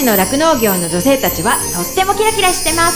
ちの酪農業の女性たちはとってもキラキラしてます。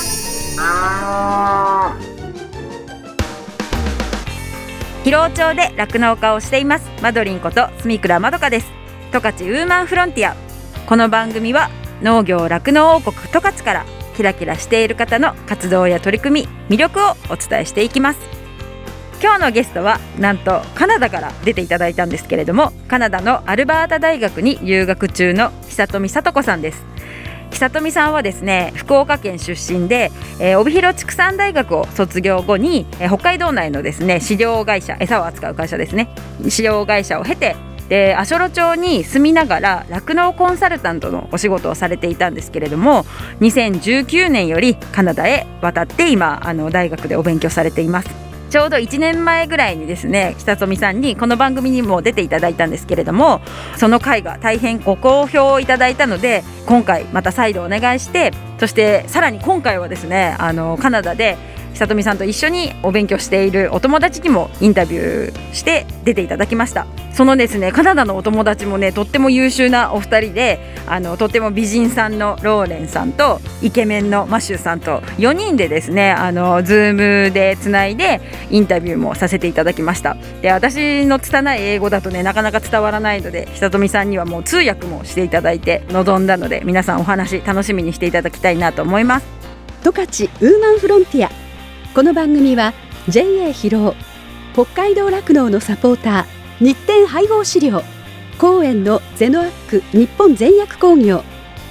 広尾町で酪農家をしていますマドリンこと住倉まどかです。十勝ウーマンフロンティア。この番組は農業酪農王国十勝からキラキラしている方の活動や取り組み、魅力をお伝えしていきます。今日のゲストはなんとカナダから出ていただいたんですけれども、カナダのアルバータ大学に留学中の久富聡子さんです。久富さんはですね、福岡県出身で、帯広畜産大学を卒業後に、北海道内のですね飼料会社、餌を扱う会社ですね、飼料会社を経て、で足寄町に住みながら酪農コンサルタントのお仕事をされていたんですけれども、2019年よりカナダへ渡って今大学でお勉強されています。ちょうど1年前ぐらいにですね、久富さんにこの番組にも出ていただいたんですけれども、その回が大変ご好評いただいたので、今回また再度お願いして、そしてさらに今回はですね、カナダで久富さんと一緒にお勉強しているお友達にもインタビューして出ていただきました。そのですね、カナダのお友達もね、とっても優秀なお二人で、とっても美人さんのローレンさんとイケメンのマシューさんと4人でですね、ズームでつないでインタビューもさせていただきました。で、私の拙い英語だとね、なかなか伝わらないので、久富さんにはもう通訳もしていただいて臨んだので、皆さんお話楽しみにしていただきたいなと思います。 十勝ウーマンフロンティア。この番組は JA 広尾、北海道酪農のサポーター、日展配合飼料、公園のゼノアック日本全薬工業、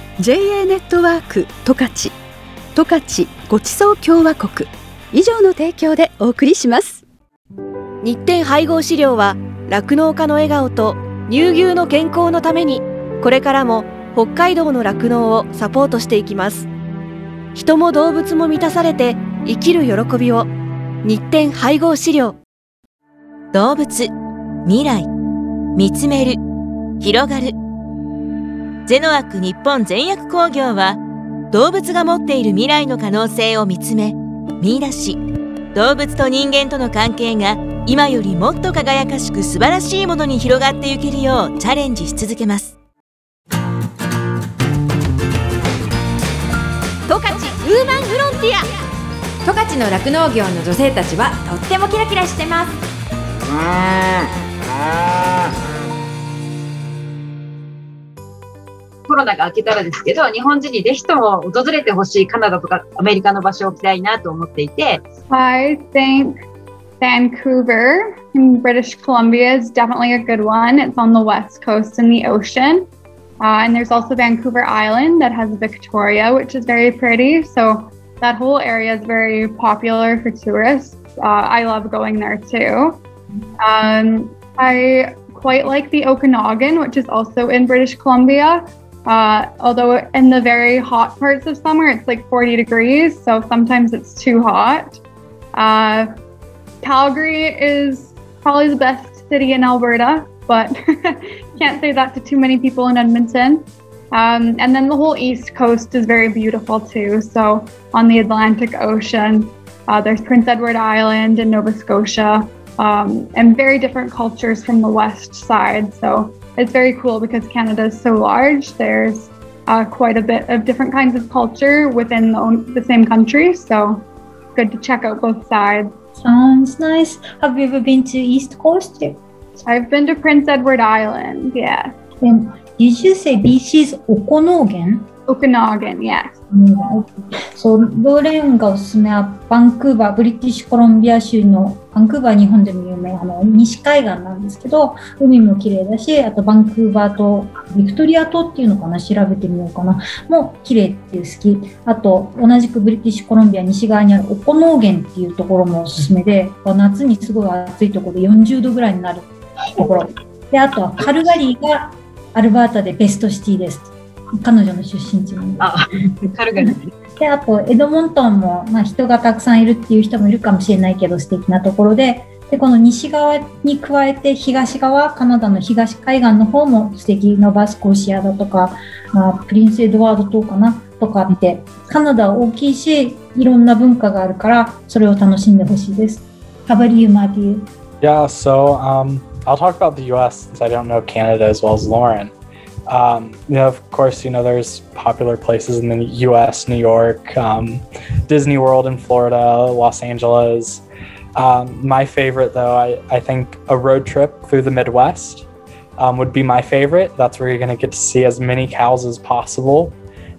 JA ネットワーク十勝、十勝ごちそう共和国以上の提供でお送りします。 日展配合飼料は酪農家の笑顔と乳牛の健康のために、これからも北海道の酪農をサポートしていきます。人も動物も満たされて生きる喜びを。日展配合飼料。 動物、未来、見つめる、広がる。ゼノアック日本全薬工業は、動物が持っている未来の可能性を見つめ、見出し、動物と人間との関係が今よりもっと輝かしく素晴らしいものに広がっていけるようチャレンジし続けます。 十勝ウーマンフロンティア。 十勝の酪農業の女性たちはとってもキラキラしてます。 コロナが明けたらですけど、日本人にぜひとも訪れてほしいカナダとかアメリカの場所を置きたいなと思っていて。 I think Vancouver in British Columbia is definitely a good one. It's on the west coast in the ocean. And there's also Vancouver Island that has Victoria, which is very pretty. So that whole area is very popular for tourists. I love going there too. I quite like the Okanagan, which is also in British Columbia. Although in the very hot parts of summer, it's like 40 degrees. So sometimes it's too hot. Calgary is probably the best city in Alberta, but can't say that to too many people in Edmonton. And then the whole East Coast is very beautiful too. So on the Atlantic Ocean, there's Prince Edward Island and Nova Scotia, and very different cultures from the west side. So it's very cool because Canada is so large. There's quite a bit of different kinds of culture within the same country. So good to check out both sides. Sounds nice. Have you ever been to East Coast? I've been to Prince Edward Island, yeah. And did you say BC's Okanagan? Okanagan, yes. そう、ローレンがおすすめはバンクーバー、ブリティッシュコロンビア州のバンクーバー、日本でも有名西海岸なんですけど、海も綺麗だし、あとバンクーバー島、ビクトリア島っていうのかな、調べてみようかな、も綺麗っていう好き。あと同じくブリティッシュコロンビア西側にあるオコノーゲンっていうところもおすすめで、夏にすごい暑いところで40度ぐらいになるところで、あとはカルガリーがアルバータでベストシティです。彼女の出身地なんで。 カルガリー。 で、あとエドモントンも、人がたくさんいるっていう人もいるかもしれないけど素敵なところで、でこの西側に加えて東側、カナダの東海岸の方も素敵。ノバスコシアだとか、プリンスエドワード島かなとかって、カナダは大きいし、いろんな文化があるからそれを楽しんでほしいです。How about you, Matthew? Yeah, so I'll talk about the U.S. since I don't know Canada as well as Lauren. Of course, there's popular places in the U.S., New York, Disney World in Florida, Los Angeles. My favorite, though, I think a road trip through the Midwest would be my favorite. That's where you're going to get to see as many cows as possible.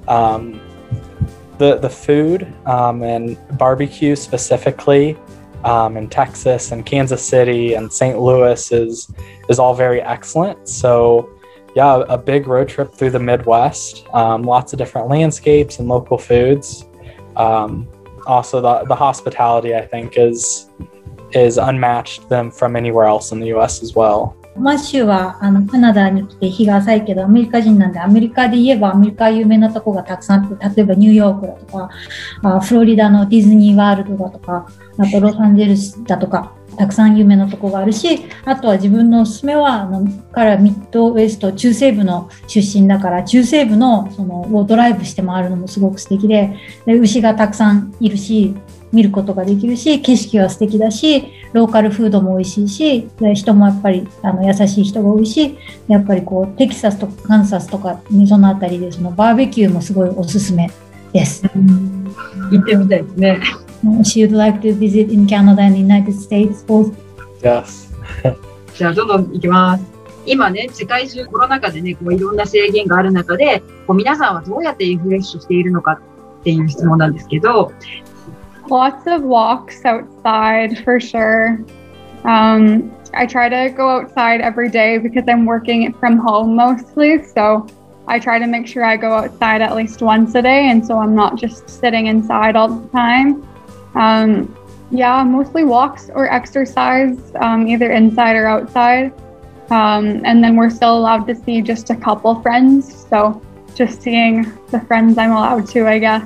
The food and barbecue specifically in Texas and Kansas City and St. Louis is all very excellent. So yeah, a big road trip through the Midwest, lots of different landscapes and local foods. Also the hospitality, I think, is unmatched from anywhere else in the US as well. マッシュはカナダに来て日が浅いけどアメリカ人なんで、アメリカで言えばアメリカ有名なとこがたくさんあって、例えばニューヨークだとかフロリダのディズニーワールドだとか、あとロサンゼルスだとかたくさん有名なとこがあるし、あとは自分のおすすめは彼はミッドウェスト中西部の出身だから、中西部のをドライブして回るのもすごく素敵で、牛がたくさんいるし見ることができるし、景色は素敵だし、ローカルフードも美味しいし、人もやっぱり優しい人が多いし、やっぱりテキサスとかカンサスとかそのあたりでバーベキューもすごいおすすめです。 行ってみたいですね。 She would like to visit in Canada and United States both. Yes. じゃあどんどん行きます。今ね、世界中コロナ禍でね、いろんな制限がある中で、皆さんはどうやってリフレッシュしているのかっていう質問なんですけど。 Lots of walks outside for sure. I try to go outside every day because I'm working from home mostly. So I try to make sure I go outside at least once a day. And so I'm not just sitting inside all the time. Yeah, mostly walks or exercise, either inside or outside. And then we're still allowed to see just a couple friends. So just seeing the friends I'm allowed to, I guess.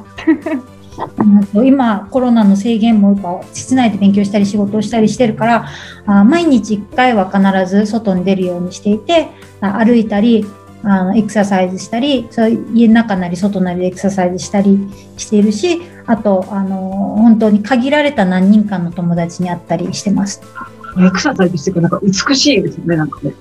今コロナの制限も室内で勉強したり仕事をしたりしてるから、毎日1回は必ず外に出るようにしていて、歩いたりエクササイズしたり、家の中なり外なりでエクササイズしたりしているし、あと本当に限られた何人かの友達に会ったりしてます。 エクササイズしてくるなんか美しいですね、なんかね。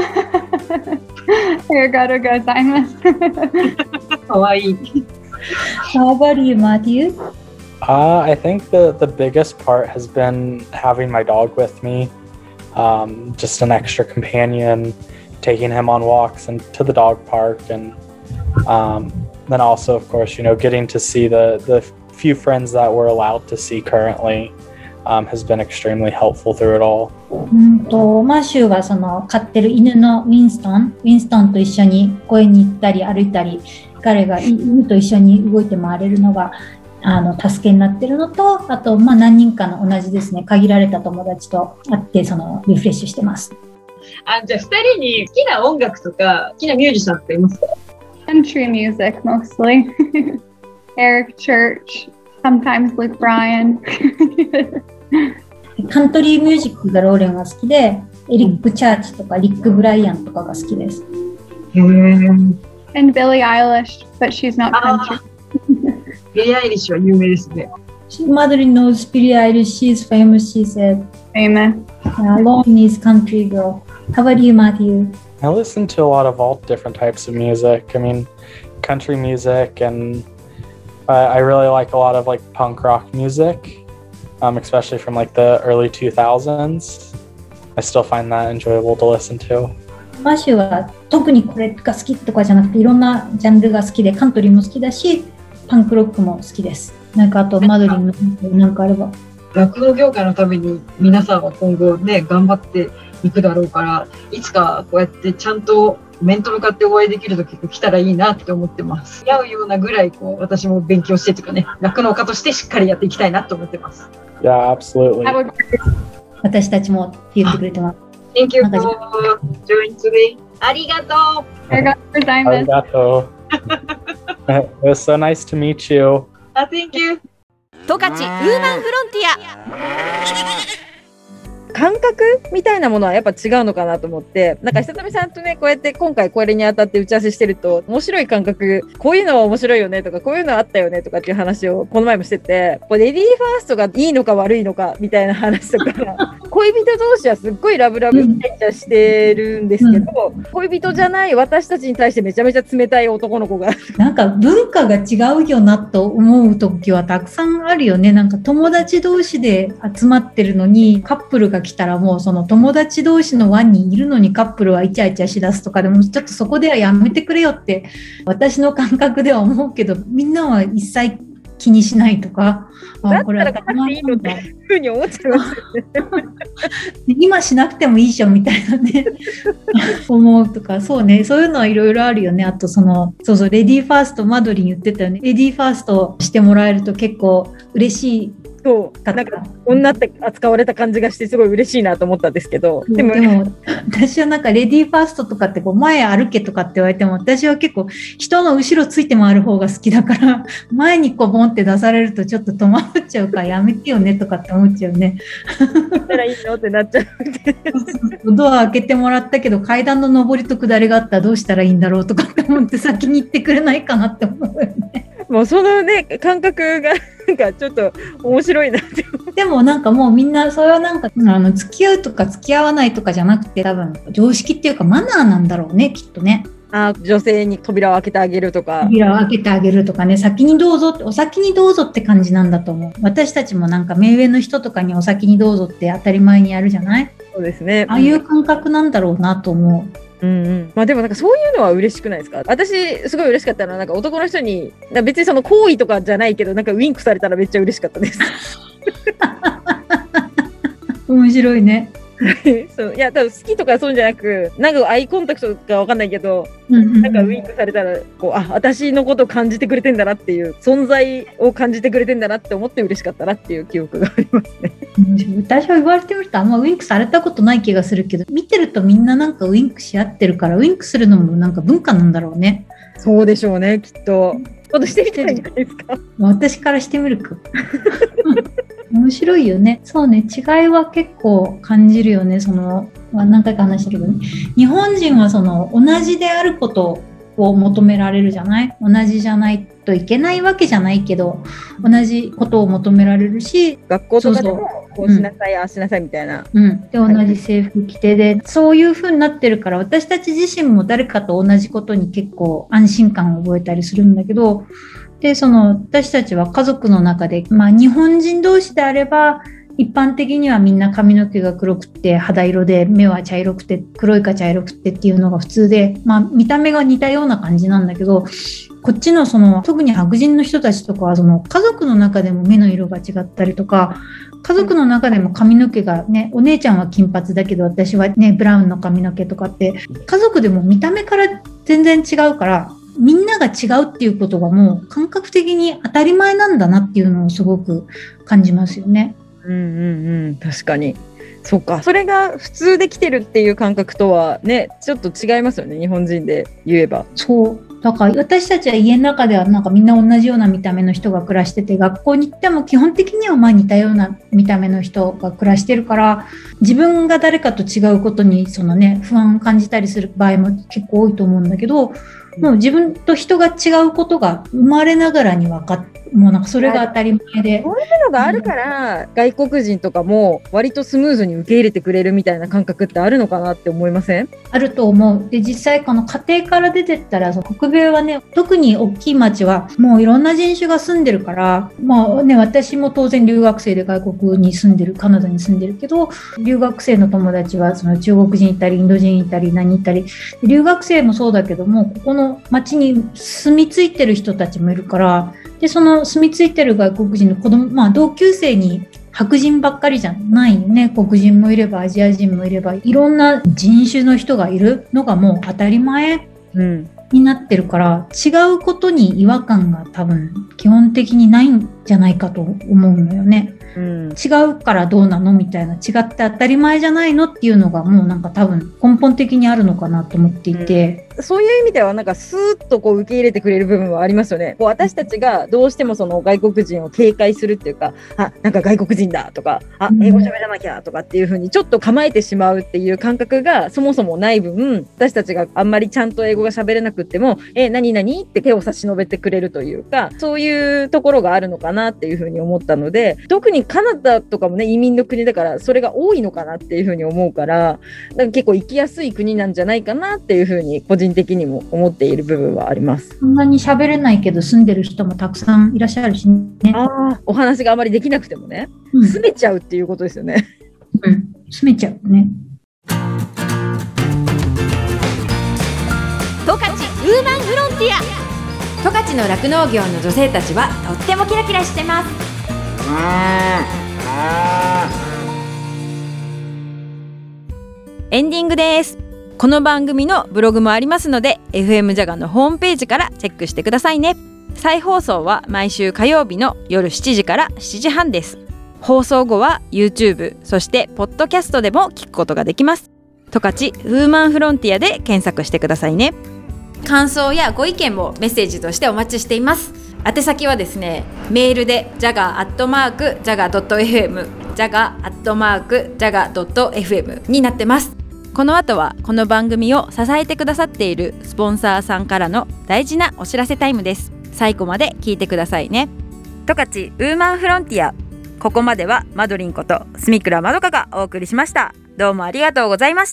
ありがとうございます。 かわいい。 How about you, Matthew? I think the biggest part has been having my dog with me, just an extra companion, taking him on walks and to the dog park, and then also, of course, getting to see the few friends that we're allowed to see currently has been extremely helpful through it all. マーシュは飼ってる犬のウィンストンと一緒に公園に行ったり歩いたり、彼が犬と一緒に動いて回れるのが助けになってるのと、あと何人かの同じですね、限られた友達と会ってリフレッシュしてます。 じゃあ2人に好きな音楽とか好きなミュージシャンっていますか？ Country music mostly. Eric Church, sometimes Luke Bryan. カントリーミュージックがローレンは好きで、エリック・チャーチとかリック・ブライアンとかが好きです。 And Billie Eilish, but she's not country. Billie Eilish は有名ですね。 Mother knows Billie Eilish. She's famous, she said. Famous. Lauren is country girl. How about you, Matthew? I listen to a lot of all different types of music. I mean, country music, and I really like a lot of punk rock music, especially from the early 2000s. I still find that enjoyable to listen to. マッシュは特にこれが好きとかじゃなくて、いろんなジャンルが好きで、カントリーも好きだし、パンクロックも好きです。あとマドリンのなんかあれば。 酪農業界のために皆さんは今後ね、頑張っていくだろうから、いつかこうやってちゃんと面と向かってお会いできる時が来たらいいなって思ってます。合うようなぐらい私も勉強してとかね、酪農家としてしっかりやっていきたいなと思ってます。 Yeah, absolutely. 私たちもって言ってくれてます。 Thank you for joining today. ありがとう。 ありがとうございます。 ありがとう。It was so nice to meet you. Thank you. 十勝ウーマンフロンティア。 感覚みたいなものはやっぱ違うのかなと思って、なんか久富さんとね、こうやって今回これにあたって打ち合わせしてると、面白い感覚、こういうのは面白いよねとか、こういうのはあったよねとかっていう話をこの前もしてて、レディーファーストがいいのか悪いのかみたいな話とか、恋人同士はすっごいラブラブイチャイチャしてるんですけど、恋人じゃない私たちに対してめちゃめちゃ冷たい男の子が。 なんか文化が違うよなと思う時はたくさんあるよね。なんか友達同士で集まってるのにカップルが来たらもうその友達同士の輪にいるのにカップルはイチャイチャしだすとかでもちょっとそこではやめてくれよって私の感覚では思うけど、みんなは一切気にしないとか、 だったらかなくていいのっていうふうに思っちゃいますよね。 今しなくてもいいじゃんみたいなね思うとか、そうね、そういうのはいろいろあるよね。あとそうレディーファースト、マドリン言ってたよね。レディーファーストしてもらえると結構嬉しい。 そうなんか女って扱われた感じがしてすごい嬉しいなと思ったんですけど、 でも私はなんかレディーファーストとかってこう前歩けとかって言われても、私は結構人の後ろついて回る方が好きだから前にこうボンって出されるとちょっと戸惑っちゃうからやめてよねとかって思っちゃうね。 だったらいいのってなっちゃうドア開けてもらったけど階段の上りと下りがあったらどうしたらいいんだろうとかって思って先に行ってくれないかなって思うよね。 もうそのね感覚がなんかちょっと面白いなってでもなんかもうみんなそれはなんか付き合うとか付き合わないとかじゃなくて多分常識っていうかマナーなんだろうねきっとね。 女性に扉を開けてあげるとか扉を開けてあげるとかね、先にどうぞってお先にどうぞって感じなんだと思う。私たちもなんか目上の人とかにお先にどうぞって当たり前にやるじゃない。 そうですね。 ああいう感覚なんだろうなと思う。 まあでもなんかそういうのは嬉しくないですか？私すごい嬉しかったのはなんか男の人に別にその行為とかじゃないけどなんかウインクされたらめっちゃ嬉しかったです面白いねそういや多分好きとかそうじゃなくなんかアイコンタクトかわかんないけど、なんかウインクされたらこう私のことを感じてくれてんだなっていう存在を感じてくれてんだなって思って嬉しかったなっていう記憶がありますね。 私は言われてみるとあんまウインクされたことない気がするけど、見てるとみんななんかウインクし合ってるからウインクするのもなんか文化なんだろうね。 そうでしょうねきっと。今度してみたらいいんじゃないですか。 私からしてみるか面白いよね。そうね、違いは結構感じるよね。何回か話したけどね、日本人は同じであることを求められるじゃない。同じじゃないといけないわけじゃないけど同じことを求められるし、 学校とかでもこうしなさい、ああしなさいみたいな、 で同じ制服着てでそういう風になってるから、私たち自身も誰かと同じことに結構安心感を覚えたりするんだけど、で私たちは家族の中で、日本人同士であれば一般的にはみんな髪の毛が黒くて肌色で目は茶色くて黒いか茶色くてっていうのが普通で、見た目が似たような感じなんだけど、こっちの特に白人の人たちとかは家族の中でも目の色が違ったりとか、家族の中でも髪の毛がね、お姉ちゃんは金髪だけど私はねブラウンの髪の毛とかって家族でも見た目から全然違うから、みんなが違うっていうことがもう感覚的に当たり前なんだなっていうのをすごく感じますよね。 確かにそうか。それが普通できてるっていう感覚とはねちょっと違いますよね、日本人で言えば。 そうだから私たちは家の中ではなんかみんな同じような見た目の人が暮らしてて、学校に行っても基本的には似たような見た目の人が暮らしてるから、自分が誰かと違うことに不安を感じたりする場合も結構多いと思うんだけど、もう自分と人が違うことが生まれながらに分かって、もうなんかそれが当たり前で、 そういうのがあるから、外国人とかも割とスムーズに受け入れてくれるみたいな感覚ってあるのかなって思いません？ あると思う。で実際この家庭から出てったら北米はね、特に大きい町はもういろんな人種が住んでるから、私も当然留学生で外国に住んでる、カナダに住んでるけど、留学生の友達は中国人いたりインド人いたり何いたり、留学生もそうだけどもここの町に住み着いてる人たちもいるから、で住み着いてる外国人の子供、同級生に白人ばっかりじゃないよね。黒人もいればアジア人もいればいろんな人種の人がいるのがもう当たり前になってるから、違うことに違和感が多分基本的にないんじゃないかと思うのよね。違うからどうなのみたいな、違って当たり前じゃないのっていうのがもうなんか多分根本的にあるのかなと思っていて、 そういう意味ではなんかスーッとこう受け入れてくれる部分はありますよね。こう私たちがどうしてもその外国人を警戒するっていうか、なんか外国人だとか、英語喋らなきゃとかっていう風にちょっと構えてしまうっていう感覚がそもそもない分、私たちがあんまりちゃんと英語が喋れなくっても、何々って手を差し伸べてくれるというか、そういうところがあるのかなっていう風に思ったので、特にカナダとかもね、移民の国だからそれが多いのかなっていう風に思うから、なんか結構行きやすい国なんじゃないかなっていう風に個人的にも思っている部分はあります。 そんなに喋れないけど住んでる人もたくさんいらっしゃるしね。 お話があまりできなくてもね、住めちゃうっていうことですよね。 住めちゃうね。 十勝ウーマンフロンティア。 十勝の酪農業の女性たちはとってもキラキラしてます。 エンディングです。この番組のブログもありますので FM ジャガのホームページからチェックしてくださいね。再放送は毎週火曜日の夜7時から7時半です。放送後は YouTube そしてポッドキャストでも聞くことができます。十勝ウーマンフロンティアで検索してくださいね。 感想やご意見もメッセージとしてお待ちしています。宛先はですね、メールで jaga@jaga.fm jaga@jaga.fm になってます。 この後はこの番組を支えてくださっているスポンサーさんからの大事なお知らせタイムです。最後まで聞いてくださいね。十勝ウーマンフロンティア、ここまではマドリンこと住倉まどかがお送りしました。どうもありがとうございました。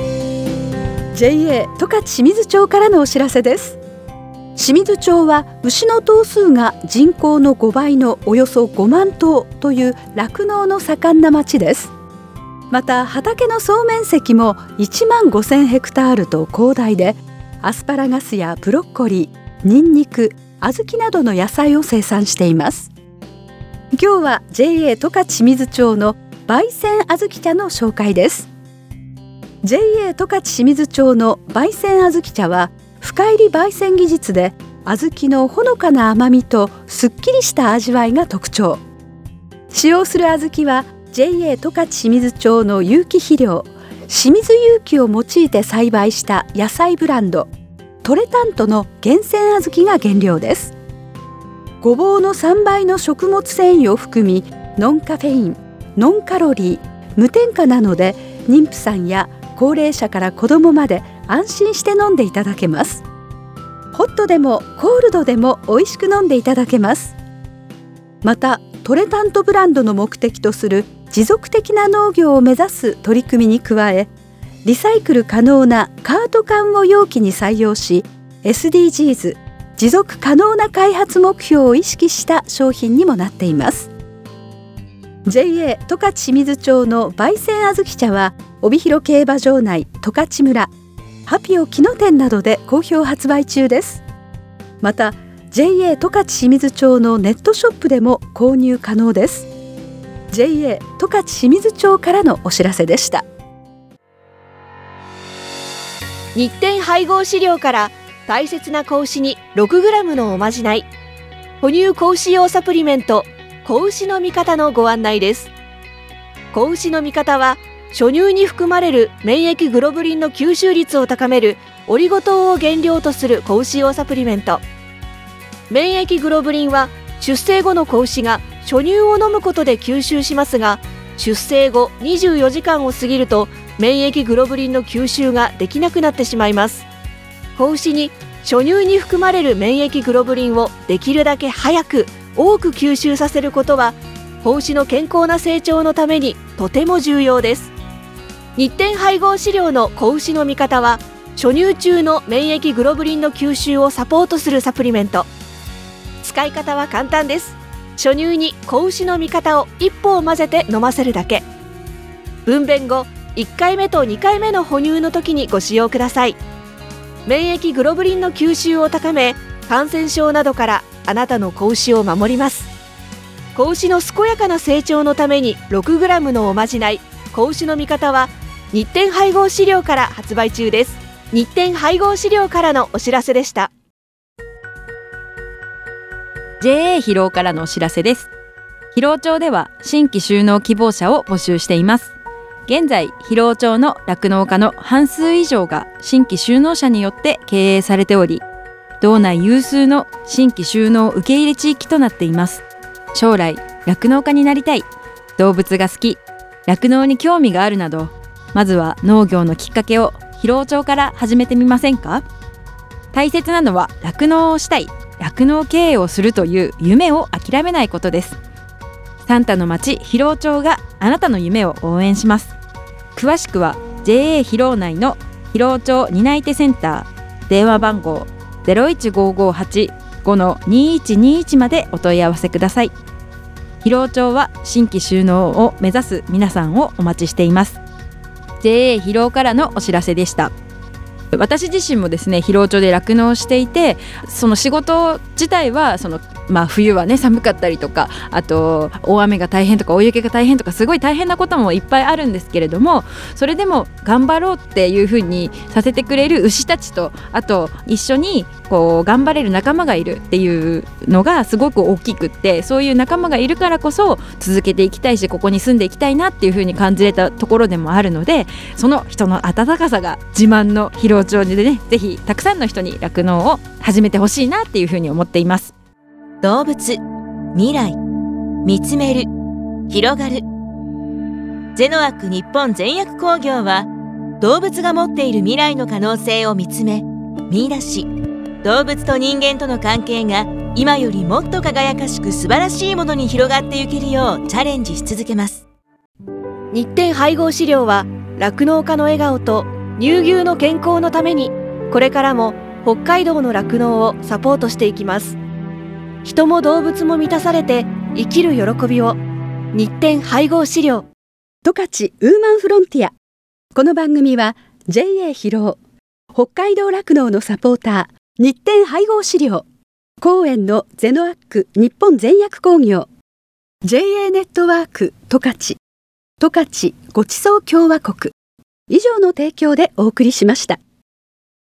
JA 十勝清水町からのお知らせです。清水町は牛の頭数が人口の5倍のおよそ5万頭という酪農の盛んな町です。また畑の総面積も1万5000ヘクタールと広大で、アスパラガスやブロッコリー、ニンニク、小豆などの野菜を生産しています。今日は JA 十勝清水町の焙煎小豆茶の紹介です。 JA 十勝清水町の焙煎小豆茶は深煎り焙煎技術で小豆のほのかな甘みとすっきりした味わいが特徴。使用する小豆は JA 十勝清水町の有機肥料清水有機を用いて栽培した野菜ブランドトレタントの厳選小豆が原料です。ごぼうの3倍の食物繊維を含み、ノンカフェイン、ノンカロリー、無添加なので妊婦さんや高齢者から子どもまで安心して飲んでいただけます。ホットでもコールドでも美味しく飲んでいただけます。またトレタントブランドの目的とする持続的な農業を目指す取り組みに加え、リサイクル可能なカート缶を容器に採用し、 SDGs 持続可能な開発目標を意識した商品にもなっています。 JA 十勝清水町の焙煎小豆茶は帯広競馬場内十勝村、ハピオ木野店などで好評発売中です。また JA 十勝清水町のネットショップでも購入可能です。 JA 十勝清水町からのお知らせでした。 日展配合飼料から大切な子牛に 6g のおまじない、哺乳子牛用サプリメント子牛の味方のご案内です。子牛の味方は初乳に含まれる免疫グロブリンの吸収率を高めるオリゴ糖を原料とする子牛用サプリメント。免疫グロブリンは出生後の子牛が初乳を飲むことで吸収しますが、出生後24時間を過ぎると免疫グロブリンの吸収ができなくなってしまいます。子牛に初乳に含まれる免疫グロブリンをできるだけ早く多く吸収させることは子牛の健康な成長のためにとても重要です。日展配合飼料の子牛の味方は初乳中の免疫グロブリンの吸収をサポートするサプリメント。使い方は簡単です。初乳に子牛の味方を1歩を混ぜて飲ませるだけ。分娩後1回目と2回目の哺乳の時にご使用ください。免疫グロブリンの吸収を高め、感染症などからあなたの子牛を守ります。子牛の健やかな成長のために 6g のおまじない子牛の味方は日展配合飼料から発売中です。日展配合飼料からのお知らせでした。 JA 広尾からのお知らせです。広尾町では新規就農希望者を募集しています。 現在広尾町の酪農家の半数以上が新規就農者によって経営されており、道内有数の新規就農受け入れ地域となっています。将来酪農家になりたい、動物が好き、酪農に興味があるなど、まずは農業のきっかけを広尾町から始めてみませんか？大切なのは酪農をしたい、酪農経営をするという夢を諦めないことです。サンタの町広尾町があなたの夢を応援します。詳しくは JA 広尾内の広尾町担い手センター、電話番号 015585-2121 までお問い合わせください。広尾町は新規就農を目指す皆さんをお待ちしています。 JA 広尾からのお知らせでした。私自身もですね、広尾町で酪農をしていて、その仕事自体は冬はね寒かったりとか、あと大雨が大変とか大雪が大変とか、すごい大変なこともいっぱいあるんですけれども、それでも頑張ろうっていう風にさせてくれる牛たちと、あと一緒に頑張れる仲間がいるっていうのがすごく大きくって、そういう仲間がいるからこそ続けていきたいし、ここに住んでいきたいなっていう風に感じれたところでもあるので、その人の温かさが自慢の広尾町でね、ぜひたくさんの人に酪農を始めてほしいなっていう風に思っています。 動物、未来、見つめる、広がる。ゼノアック日本全薬工業は、動物が持っている未来の可能性を見つめ、見出し、動物と人間との関係が今よりもっと輝かしく素晴らしいものに広がっていけるようチャレンジし続けます。 日展配合飼料は酪農家の笑顔と乳牛の健康のために、これからも北海道の酪農をサポートしていきます。人も動物も満たされて生きる喜びを。日展配合飼料。 十勝ウーマンフロンティア。この番組は JA 広尾、北海道酪農のサポーター、日展配合飼料、公園のゼノアック日本全薬工業、 JA ネットワーク十勝、十勝ごちそう共和国以上の提供でお送りしました。